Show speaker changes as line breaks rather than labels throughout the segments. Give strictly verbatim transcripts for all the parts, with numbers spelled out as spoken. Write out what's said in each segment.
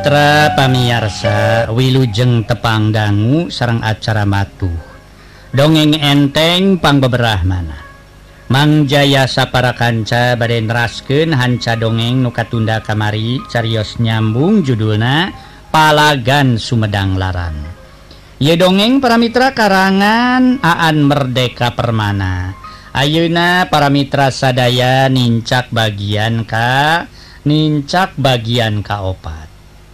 Mitra pamiarsa wilujeng tepang dangu sareng acara matuh dongeng enteng pangbeberahmana Mang Jaya sapara kanca bade neraskeun hanca dongeng nu katunda kamari carios nyambung judulna Palagan Sumedang Larang. Ieu dongeng para mitra karangan Aan Merdeka Permana. Ayeuna para mitra sadaya nincak bagian ka nincak bagian kaopat.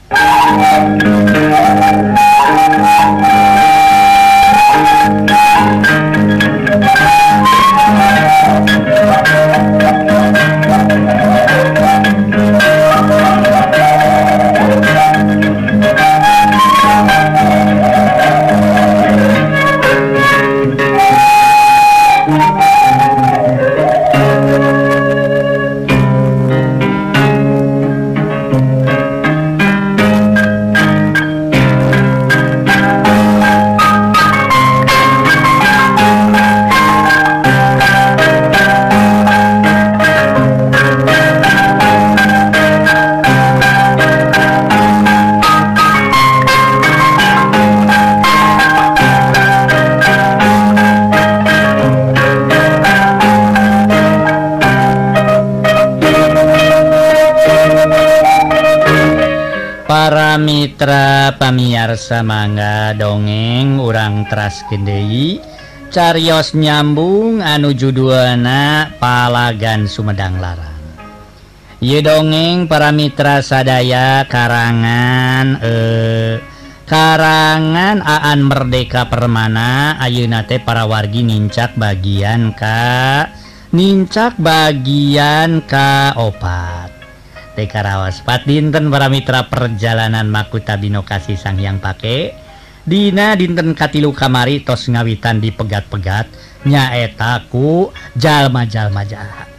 Para mitra pamiarsa mangga dongeng urang teraskeun deui carios nyambung anu judulna Palagan Sumedang Larang. Ieu dongeng para mitra sadaya karangan eh karangan Aan Merdeka Permana. Ayeuna teh para wargi nincak bagian ka nincak bagian ka opat. Tekarawas pat dinten para mitra perjalanan Makuta Bino Kasih Sang Hyang Pake dina dinten katilu kamari tos ngawitan di pegat-pegat nyaeta ku jalma-jalma jahat.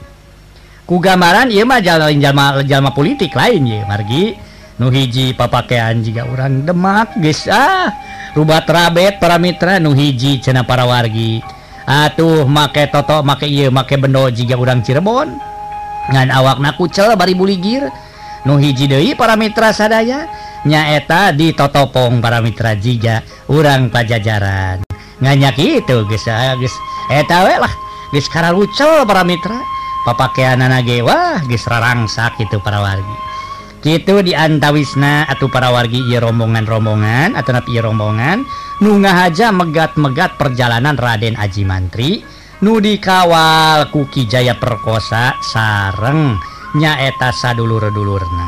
Ku gambaran ieu mah jalma jalma politik lain ye margi nu hiji papakean jiga urang Demak geus ah rubat rabet para mitra nu hiji cenah para wargi atuh make toto make ieu make bendo jiga urang Cirebon ngan awakna kucel bari buligir. Nu hiji deui para mitra sadaya nyaeta ditotopong para mitra jiga urang Pajajaran. Nganya kitu geus geus eta we lah geus kararucel para mitra papakeanana ge wah geus rarangsak kitu para wargi. Kitu diantawisna atuh para wargi ieu rombongan-rombongan atuh ieu rombongan nu ngahaja megat-megat perjalanan Raden Aji Mantri nu dikawal ku Ki Jaya Perkosa sareng nyaeta sadulur-dulurna.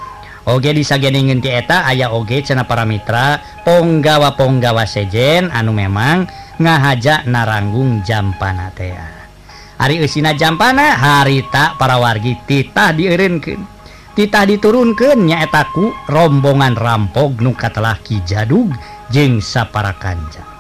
Oge disageningeun ti eta aya oge cenah para mitra ponggawa-ponggawa sejen anu memang ngahaja naranggung jampana teh. Ari eusina jampana harita para wargi titah dieureunkeun. Titah diturunkeun nyaeta ku rombongan rampog nu katelah Ki Jadug jeung sapara kanca.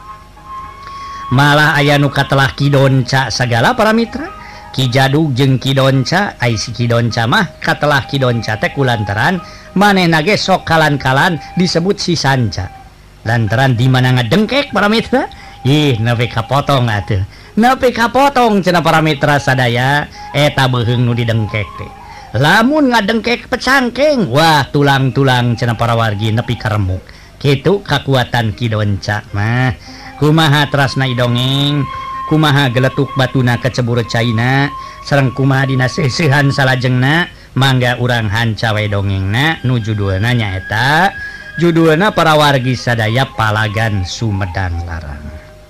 Malah aya nu katelah Ki Donca sagala para mitra. Ki Jadug jeung Ki Donca ai si Ki Donca mah katelah Ki Donca teh kulantaran manehna ge sok kalan-kalan disebut si Sanca. Lantaran di mana ngadengkek para mitra ih nepi kapotong atuh. Nepi kapotong cenah para mitra sadaya eta beuheung nu didengkek teh. Lamun ngadengkek pecangkeng wah tulang-tulang cenah para wargi nepi karemuk. Kitu kakuatan Ki Donca mah. Kumaha terasna idongeng, kumaha geletuk batuna kecebur caina, sareng kumaha dina seusehan salajengna, mangga urang hanca we dongengna nu judulna nyaeta judulna para wargi sadaya Palagan Sumedang Larang.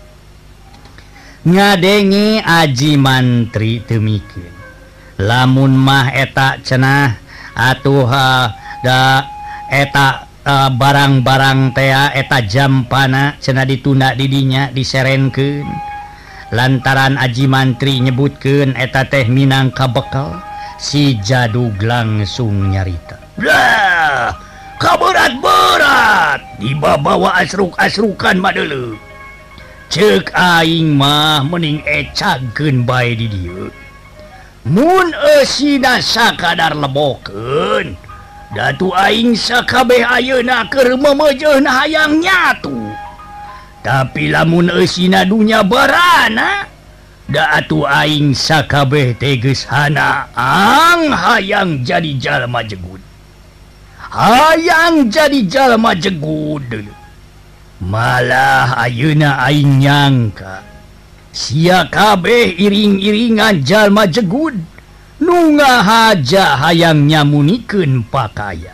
Ngadengi Aji Mantri teu mikeun. Lamun mah eta cenah atuh da eta Uh, barang-barang tea eta jampana cenah ditunda didinya diserenkeun lantaran Aji Mantri nyebutkeun eta teh minangka bekal. Si Jadug langsung nyarita, "Lah, kaberat-berat dibawa asruk-asrukan madeuleu. Ceuk aing mah mending ecageun bae di dieu. Mun eusina sakadar lebokeun datu aing sakabeh ayeuna keur memejeun hayang nyatu. Tapi lamun eusina dunya barana da atuh aing sakabeh teh geus hanaang hayang jadi jalma jegut. hayang jadi jalma jegud. Malah ayeuna aing nyangka sia kabeh iring-iringan jalma jegud nu ngahaja hayang nyamunikeun pakaya.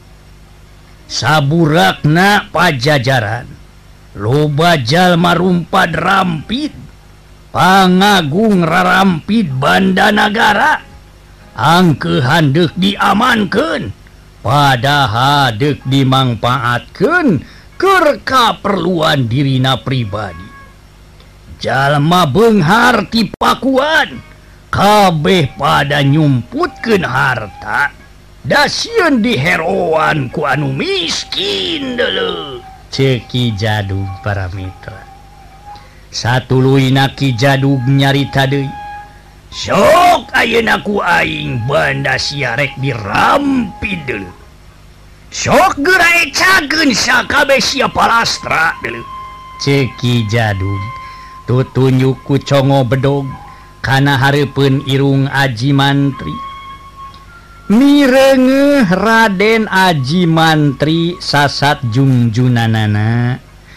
Saburakna pajajaran loba jalma rumpad rampid pangagung rarampid banda nagara angke handek diamankeun padahal dek dimangpaatkeun keur kaperluan dirina pribadi. Jalma beunghar ti pakuan kabeh pada nyumputkeun harta dasieun diheroan ku anu miskin deuleu. Ceuk Ki Jadug para mitra. Satuluina Ki Jadug nyarita deui. Sok ayeuna ku aing banda sia rek dirampid deuleu. Sok geura ecakeun sakabeh sia palastra deuleu. Ceuk Ki Jadug tutunjuk ku congo bedog kana hareupeun irung Aji Mantri. Mireungeuh Raden Aji Mantri sasat jungjunanana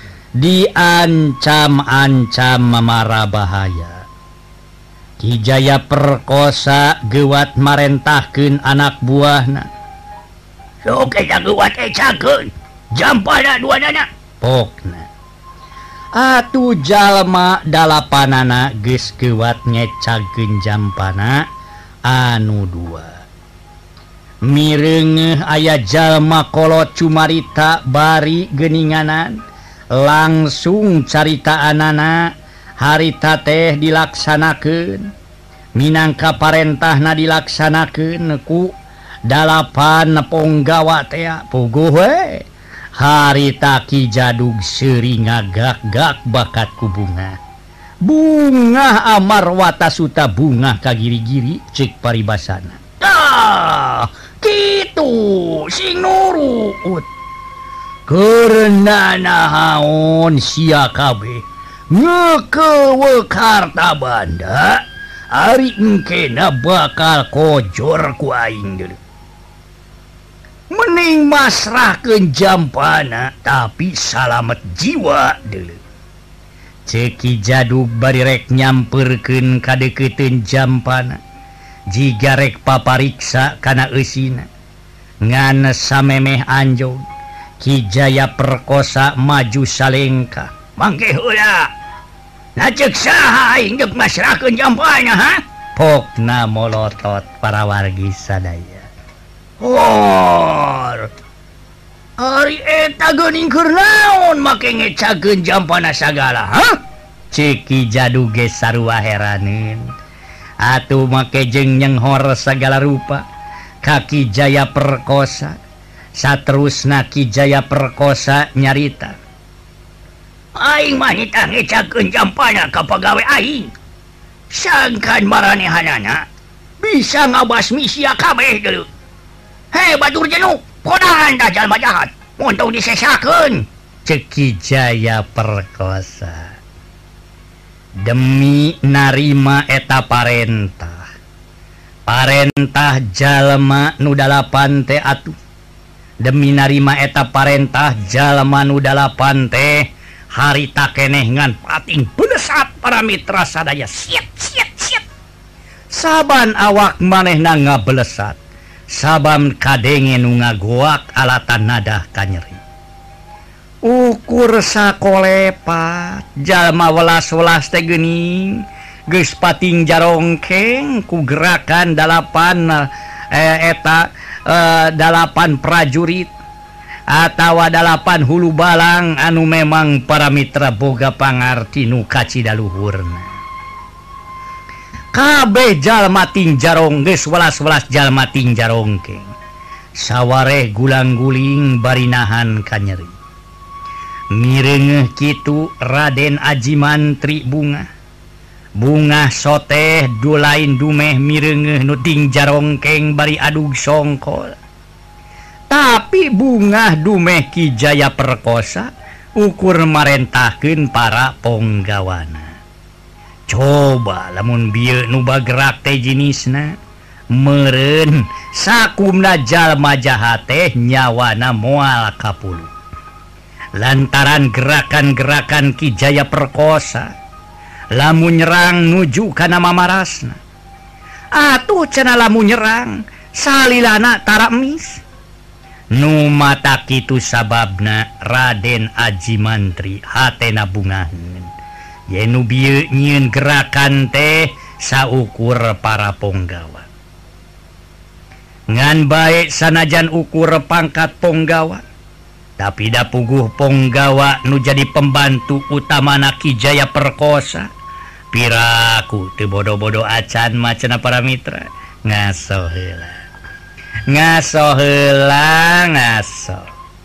diancam-ancam mamara bahaya. Ki Jaya perkosa gewat marentahkeun anak buahna. Sok eta gewat ecakeun jampana duanana pokna. Atuh jalma dalapanana geus gewat ngecakeun jampana anu dua. Mireungeuh aya jalma kolot cumarita bari geuninganan langsung caritaanana harita teh dilaksanakeun minangka parentahna dilaksanakeun ku dalapan ponggawa teh puguh we. Harita Ki Jadug seuring ngagak-gak bakat ku bunga. Bunga amarwata suta bunga kagiri-giri cek paribasana. Ah, kitu sing nurut. Karena nahaon sia kabeh ngekeuweuk harta banda ari engkena bakal kojor ku aing deuleu. Mending masrahkeun jampana tapi salamet jiwa deuleu. Ceuk Ki Jadug bari rek nyamperkeun kadeukeuteun jampana jiga rek papariksa kana eusina. Ngan samemeh anjog Ki Jaya perkosa maju salengka. Mangke heula. Na ceuk saha aing geus masrahkeun jampana ha? Pokna molotot para wargi sadaya. Hor ari eta geuning keur naon make ngecakeun jampana sagala ha? Ceuk Ki Jadug ge sarua heraneun. Atuh make jeung nyenghor sagala rupa ka Ki Jaya perkosa. Saterusna Ki Jaya perkosa nyarita. Aing mah nitah ngecakeun jampana ka pagawe aing. Sangkan maranehanana bisa ngabasmi sia kabeh deuleu. Hei batur jenuh, kodahan dah jalma jahat. Untuk disesakeun. Ceuk Ki Jaya perkosa. Demi narima eta parentah. Parentah jalma nu dalapan teh atuh. Demi narima eta parentah jalma nu dalapan teh harita keneh ngan pating benesat para mitra sadaya. Siap, siap, siap. Saban awak manehna ngabelesat. Sabam kadenge nu ngagoak alatan nadah kanyeri. Ukur sakolepat jalma welas-welas teh geuning geus pating jarongkeng ku gerakan dalapan eh, eta eh, dalapan prajurit atawa dalapan hulu balang anu memang para mitra boga pangarti nu kacidaluhurna. Kabeh jalma ting jarong geus welas-welas jalma ting jarongkeng. Sawareh gulang-guling bari nahan kanyeri. Mireungeuh kitu Raden Aji Mantri bunga. Bunga soteh dulain dumeh mireungeuh nu ting jarongkeng bari adug songkol. Tapi bunga dumeh Ki Jaya perkosa ukur marentahkeun para ponggawana. Coba lamun bieu nu bagerak teh jenisna meureun sakumna jalma jahat teh nyawana moal kapuluh lantaran gerakan-gerakan Ki Jaya Perkosa lamun nyerang nuju kana mamarasna. Atuh cenah lamun nyerang salilana tara emis. Nu mata kitu sababna Raden Aji Mantri hatena bungaheun. Yen nu bieu nyieun gerakan teh saukur para ponggawa. Ngan bae sanajan ukur pangkat ponggawa, tapi da puguh ponggawa nu jadi pembantu utamana Ki Jaya Perkosa. Piraku teu bodo-bodo acan mah cenah para mitra. Ngaso heula. Ngaso heula ngaso.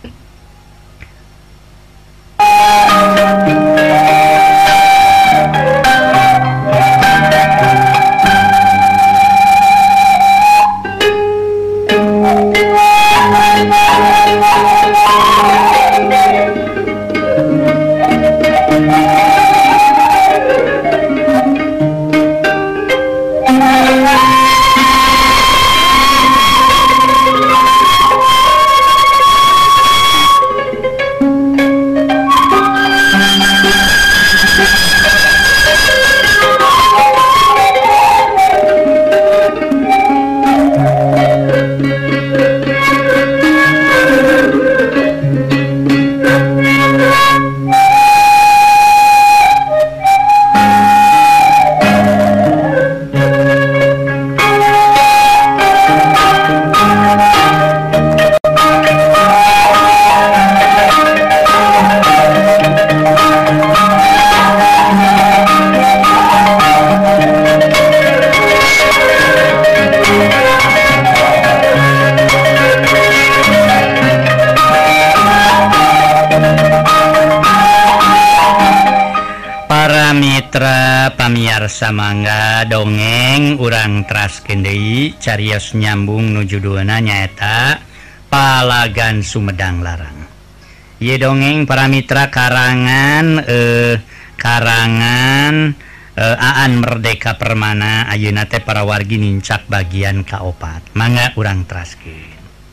Pamiarsa mangga dongeng urang teraskeun deui carios nyambung nuju duana nyaeta Palagan Sumedang Larang. Ieu dongeng para mitra karangan eh, karangan eh, Aan Merdeka Permana ayeuna teh para wargi nincak bagian kaopat. Mangga urang teraskeun.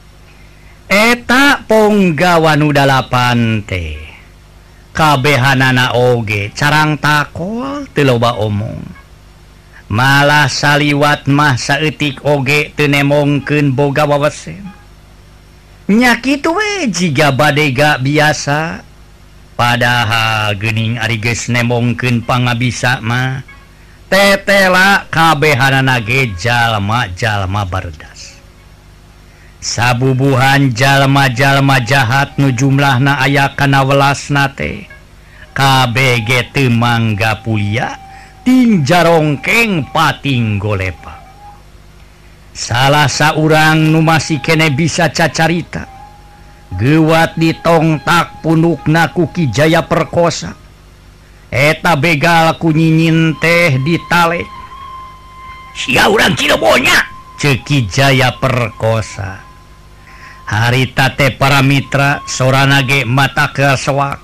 Eta ponggawa nu dalapan teh kabehanana oge carang takol teu loba omong, malah saliwat mah saeutik oge teu nemongkeun boga wawesen. Nya kitu we jiga badega biasa, padahal geuning ari geus nemongkeun pangabisa mah tetela kabehanana ge jalma-jalma bardas. Sabubuhan jalma-jalma jahat nu jumlahna aya kana welasna teh kabeh ge teu mangga pulia ting jarongkeng pating golepa. Salah saurang nu masih kene bisa cacarita geuwat ditongtak punukna ku Ki Jaya Perkosa. Eta begal ku nyinyin teh ditale. Sia urang Cirebonnya ceuk Ki Jaya Perkosa. Harita teh para mitra sorana ge mata keaswak.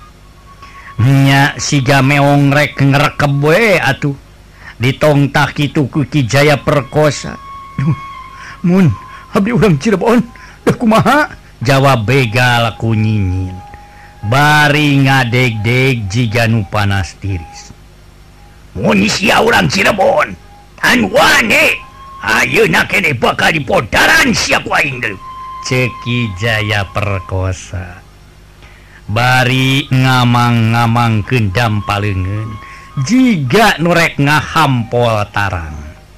Nya siga meong rek ngrekeb we atuh ditongtak kitu ku Ki Jaya Perkosa. Mun abdi urang Cirebon da kumaha? Jawab begal ku nyinyin bari ngadeg-deg jiga nu panas tiris. Mun sia urang Cirebon tan wane ayeuna kene bakal dipodaran sia ku aing deui ceuk Ki Jaya Perkosa. Bari ngamang-ngamangkeun dampaleungeun jiga nu rek ngahampol tarang.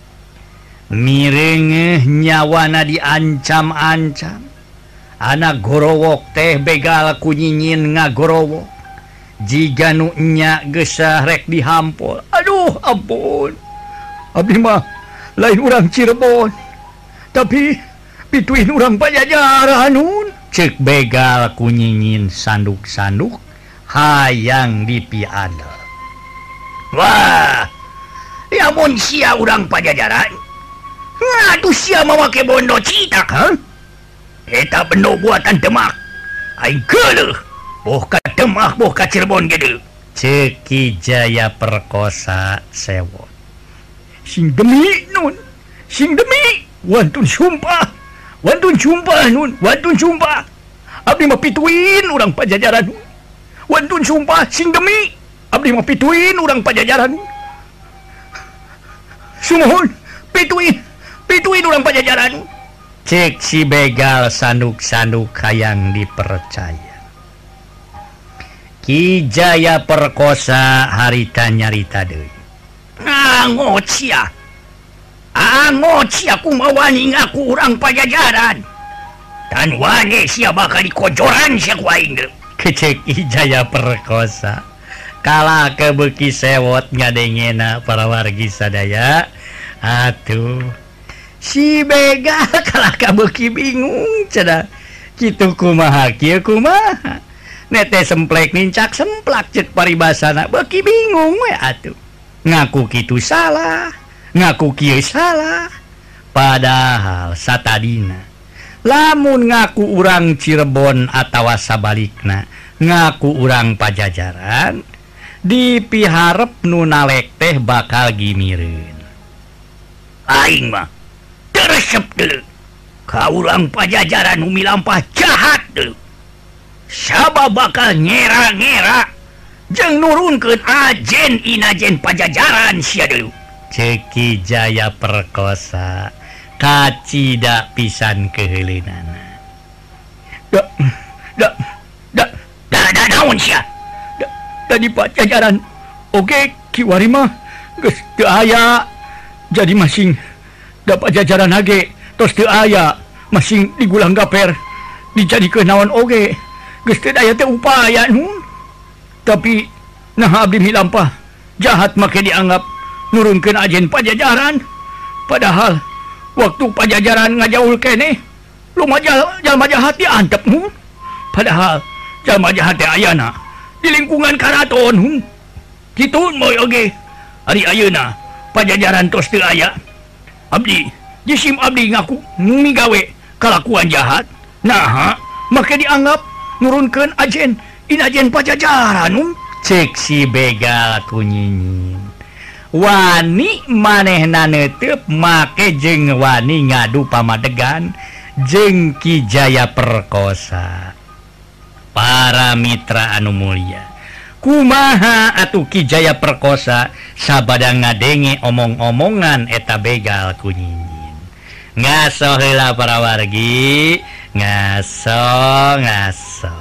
Mireungeuh nyawana diancam-ancam. Anak gorowok teh begal ku nyinyin ngagorowok jiga nu nya geus rek dihampol. Aduh ampun, abdi mah lain urang Cirebon tapi pituin urang Pajajaran nun ceuk begal ku nyinyin sanduk-sanduk hayang dipiadel. Wah, lamun sia urang Pajajaran ngadu sia mawake bondo citak ha? Eta bendo buatan Demak aing geuleuh boh ka Demak boh ka Cirebon gede ceuk Ki Jaya Perkosa sewot. Sing demi nun sing demi
Wantun sumpah, wantun sumpah nun, wantun sumpah. Abdi mah pituin urang Pajajaran. Wantun sumpah sing demi abdi mah pituin urang Pajajaran. Sumohon, pituin, pituin urang Pajajaran.
Cek si begal sanduk-sanduk hayang dipercaya. Ki Jaya Perkosa harita nyarita deui.
Ngangot sia. Angot sia kumaha wani ngaku urang Pajajaran. Dan wani sia bakal dikojoran sia ku aing.
Kecek Ki Jaya Perkosa. Kala kebeki sewot ngadengena para wargi sadaya. Atuh. Si begal kalah kabeuki bingung cenah. Kitu kumaha kieu kumaha. Nete semplek nincak semplak cek paribasana beuki bingung we atuh. Ngaku kitu salah. Ngaku kieu salah, padahal satadina lamun ngaku urang Cirebon atawa sabalikna ngaku urang Pajajaran dipiharep nu nalek teh bakal gimireun.
Aing mah teresep deuleu ka urang Pajajaran nu milampah jahat deuleu. Sabab bakal ngera-ngera jeung nurunkeun ajen inajen Pajajaran sia deuleu.
Ceki Jaya Perkosa kacida pisan keheuleunan.
Da da da da da naon sia? Da, da di Pajajaran oge kiwari mah geus teu aya. Jadi masing da Pajajaran age tos teu aya, masing digulang gaper dijadikeun naon oge. Geus teu daya teh upaya nun. Tapi nah abdi milampah jahat make dianggap nurunkeun ajen Pajajaran. Padahal waktu Pajajaran ngajaul keneh lumaja jalma jahat diantep nun. Padahal jalma jahat teh ayana di lingkungan karaton nun. Kitu moy oge ari ayeuna Pajajaran tos teu aya. Abdi jisim abdi ngaku migawe kalakuan jahat. Nah, make dianggap nurunkeun ajen inajen Pajajaran nun.
Cek si begal kunyinyin. Wani manehna neuteub make jeung wani ngadu pamadegan jeung Ki Jaya Perkosa. Para mitra anu mulia, kumaha atuh Ki Jaya Perkosa sabada ngadenge omong-omongan eta begal kunyinyin. Ngaso heula para wargi, ngaso ngaso.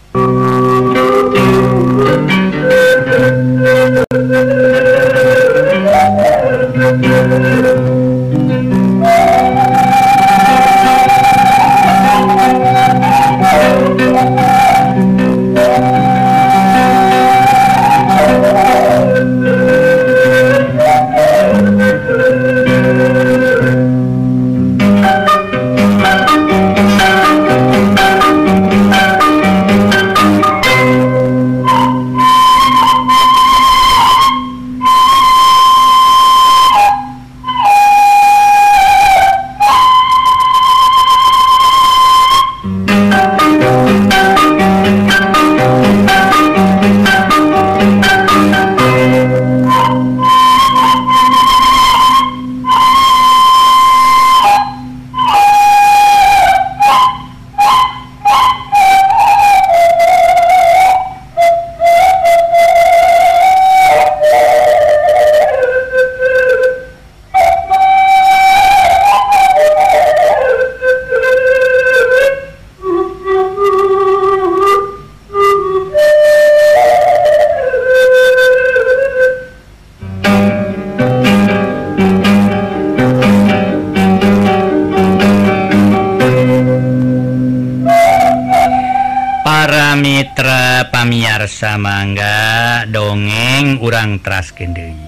Pamiarsa mangga dongeng urang teraskeun deui.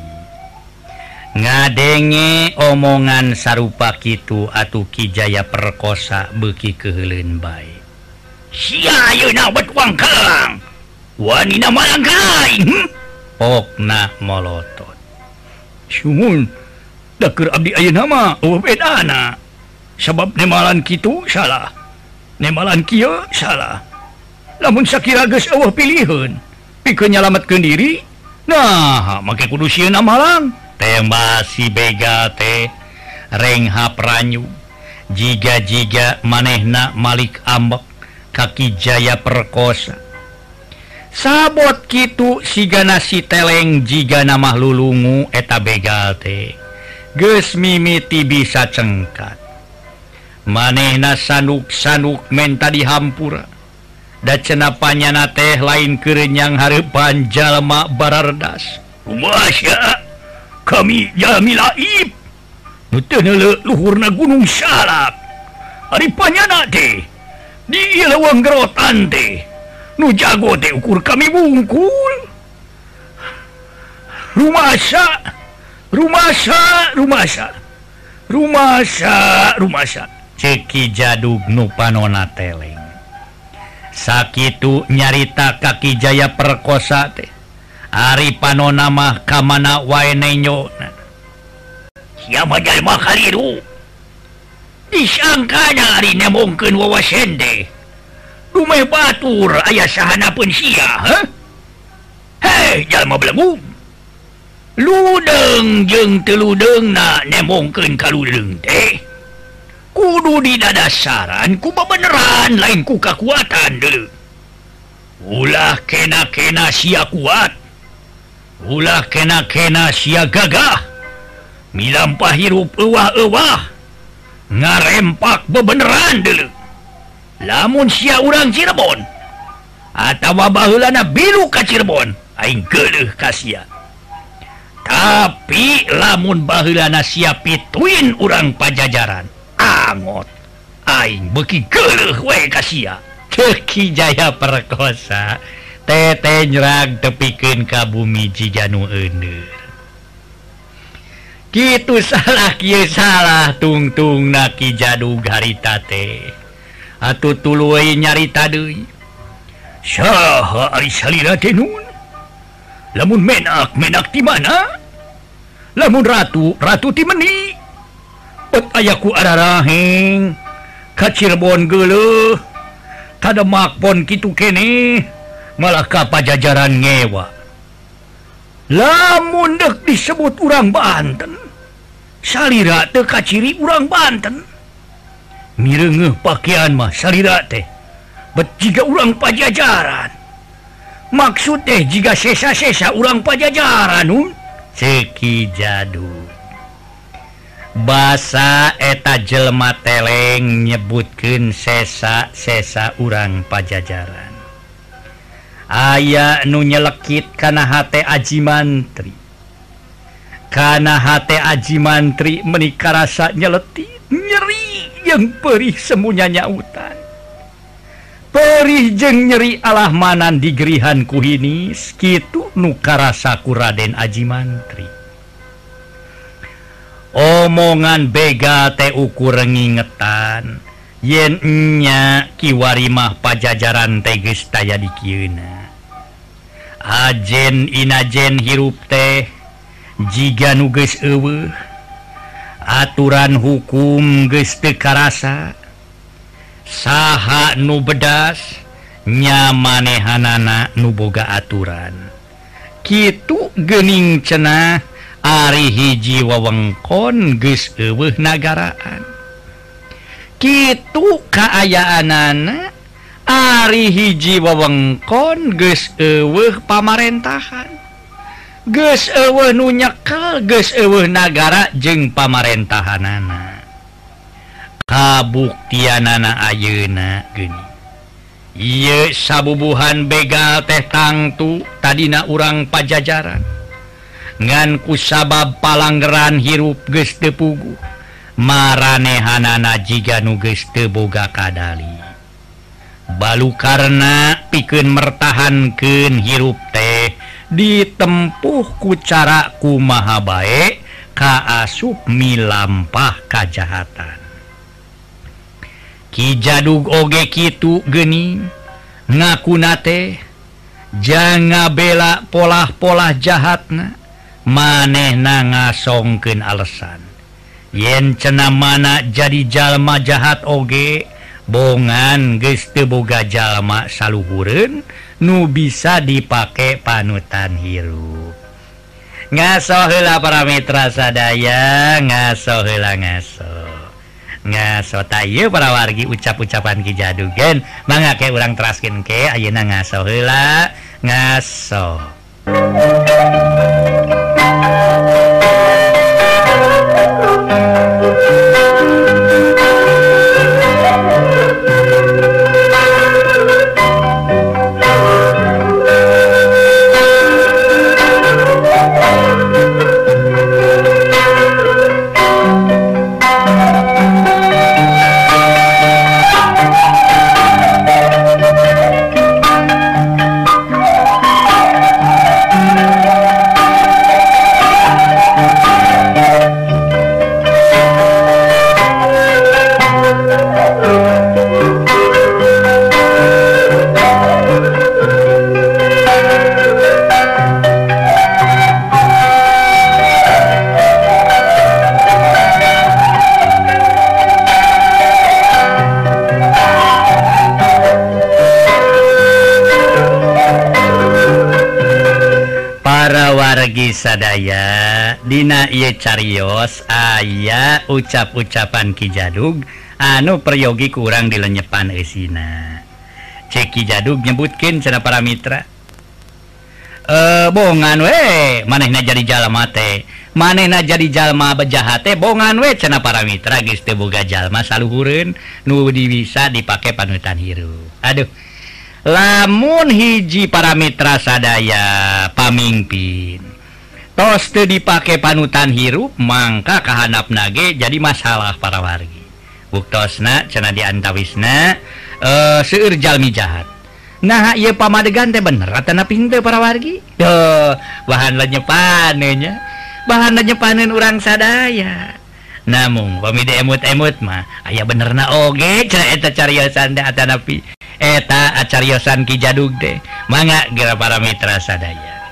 Ngadenge omongan sarupa kitu atuh Ki Jaya Perkosa beuki keheuleuan bae.
Sia ayeuna betuang kelang. Wanina malangkai. Hmm?
Pokna molotot.
Syuhun, da keur abdi ayeuna mah eueuh bedana. Sabab nemalan kitu salah. Nemalan kieu salah. Lamun sakira geus eueuh piliheun pikeun nyalametkeun diri, nah make kudu sieun amalang.
Tembak si begal teh reng hapranyu Jiga-jiga manehna Malik ambek Kaki Jaya perkosa sabot kitu sigana si teleng jiga nama lulungu eta begal teh geus mimiti bisa cengkat manehna sanuk-sanuk menta dihampura da cenah panyana teh lain kerenyang hareupan jalma barardas
kumaha kami jalmi laib nu teu neuleuh luhurna gunung Salak ari panyana teh di leuweung gerotan teh nu jago teh ukur kami bungkul rumasa rumasa rumasa rumasa rumasa
ceki Jadug nu panona teleng sakitu nyarita Kaki Jaya perkosa teh ari panona mah kamana wae nenyona
sia mah jalma kaliru disangkana ari nemongkeun wawasen teh rumah batur ayah sahana pun sia huh? Hei jalma belagu ludeng jeung teludeng na nemongkeun kaludeng teh kudu didadasaran ku beneran lain ku kakuatan deuleu ulah kena-kena sia kuat ulah kena-kena sia gagah milampah hirup euwah-euwah ngarempak bebeneran deuleu lamun sia urang Cirebon atawa baheulana bilu ka Cirebon aing geuleuh ka sia tapi lamun baheulana sia pituin urang Pajajaran angot aing beuki geuleuh we ka sia
Kaki Jaya perkosa tete nyerag tepikeun ka bumi jiga nu euneur kitu salah kieu salah tungtungna Ki Jadug harita teh atuh tuluy nyarita deui
saha ari salira teh nun lamun menak menak di mana lamun ratu ratu ti meuni bet aya ku araraheng ka Cirebon geuleuh tademak pon kitu keneh malah ka Pajajaran ngewa lamun deuk disebut urang Banten salira teu kaciri urang Banten mireungeuh pakaian mah salira teh bet jiga urang Pajajaran maksud teh jiga sesa-sesa urang Pajajaran nun
ceki Jadug basa eta jelema teleng nyebutkeun sesa-sesa urang Pajajaran aya nu nyelekit kana hate Aji Mantri kana hate Aji Mantri menika rasa nyeletit nyeri yang perih semuanya nyautan perih jeung nyeri alah manan digerihan ku hinis kitu nu karasa ku Raden Aji Mantri omongan begal teh ukur ngingetan yen nya kiwari mah Pajajaran teh geus taya di kieuna ajen inajen hirup teh jiga nu geus eueuh aturan hukum geus teu karasa saha nu bedas nya manehanana nu boga aturan kitu geuning cenah ari hiji wewengkon geus eueuh nagaraan kitu kaayaanana ari hiji wewengkon geus eueuh pamarentahan geus eueuh nu nyekel geus eueuh nagara jeung pamarentahanana kabuktianana ayeuna geuning ieu sabubuhan begal teh tangtu tadina urang Pajajaran ngan kusabab palanggeran hirup geus teu puguh maranehanana jiga nu geus teu boga kadali balukarna pikeun mertahankeun hirup teh ditempuh ku cara kumaha bae kaasup milampah kajahatan Ki Jadug oge kitu geuning ngakuna teh jang ngabela polah-polah jahatna manehna ngasongkeun alesan yen cenah mana jadi jalma jahat oge bongan geus teu boga jalma saluhureun nu bisa dipake panutan hirup ngaso heula para mitra sadaya ngaso heula ngaso ngaso taye para wargi ucap-ucapan Ki Jadugen mangga ke urang teraskeun ke ayeuna ngaso heula ngaso. Wargi sadaya dina ieu carios aya ucap-ucapan Ki Jadug anu peryogi kurang dilenyepan eusina. Cek Ki Jadug nyebutkeun cenah para mitra. Eh bongan we manehna jadi jalma teh. Manehna jadi jalma bejahat teh bongan we cenah para mitra geus teu boga jalma saluhureun nu bisa dipake panutan hirup. Aduh. Lamun hiji para mitra sadaya pamimpin tos teu dipake panutan hirup mangka kahandapna ge jadi masalah para wargi. Buktosna cenah diantawisna eh seueur jalmi jahat. Nah ieu pamadegan teh bener atana pinteu para wargi? Duh, bahan lenyepaneun nya. Bahan lenyepaneun urang sadaya. Namun pamide emut-emut mah aya benerna oge cenah eta cariosan teh atanapi eta acariosan Ki Jadug teh. Mangga geura para mitra sadaya.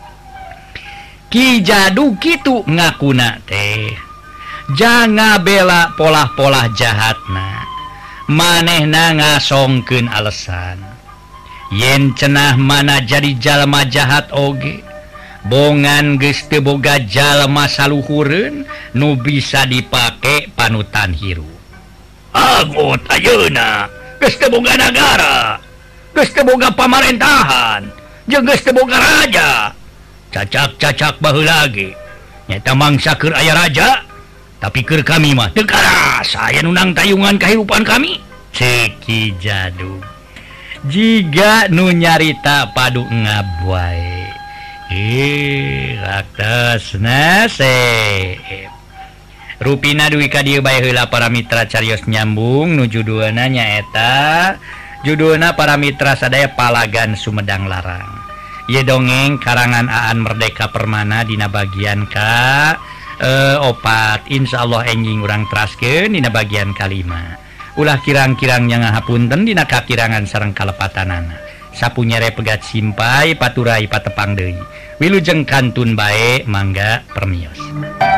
Ki Jadug kitu ngakuna teh jangan bela polah-polah jahatna. Manehna ngasongkeun alesan yen cenah mana jadi jalma jahat oge bongan geus teu boga jalma saluhureun nu bisa dipake panutan hirup. Agot ayeuna geus teu boga nagara, geus teu boga pamarentahan, jeung geus teu boga raja. Cacak-cacak baheula ge nyata mangsa keur aya raja, tapi keur kami mah teu karasa aya nu nang tayungan kahirupan kami. Cek Ki Jadug. Jiga nu nyarita padu ngab wae. Eh, raktosna seep. Rupina duwi ka dieu bae heula para mitra carios nyambung nu judulna nyaeta judulna para mitra sadaya Palagan Sumedang Larang. Ieu dongeng karangan Aan Merdeka Permana dina bagian ka eh, opat insyaallah enjing urang teraskeun dina bagian kalima. Ulah kirang-kirang nya ngahapunten dina kakirangan sareng kalepatanana. Sapunyere pegat simpai paturai patepang deui. Wilujeng kantun bae mangga permios.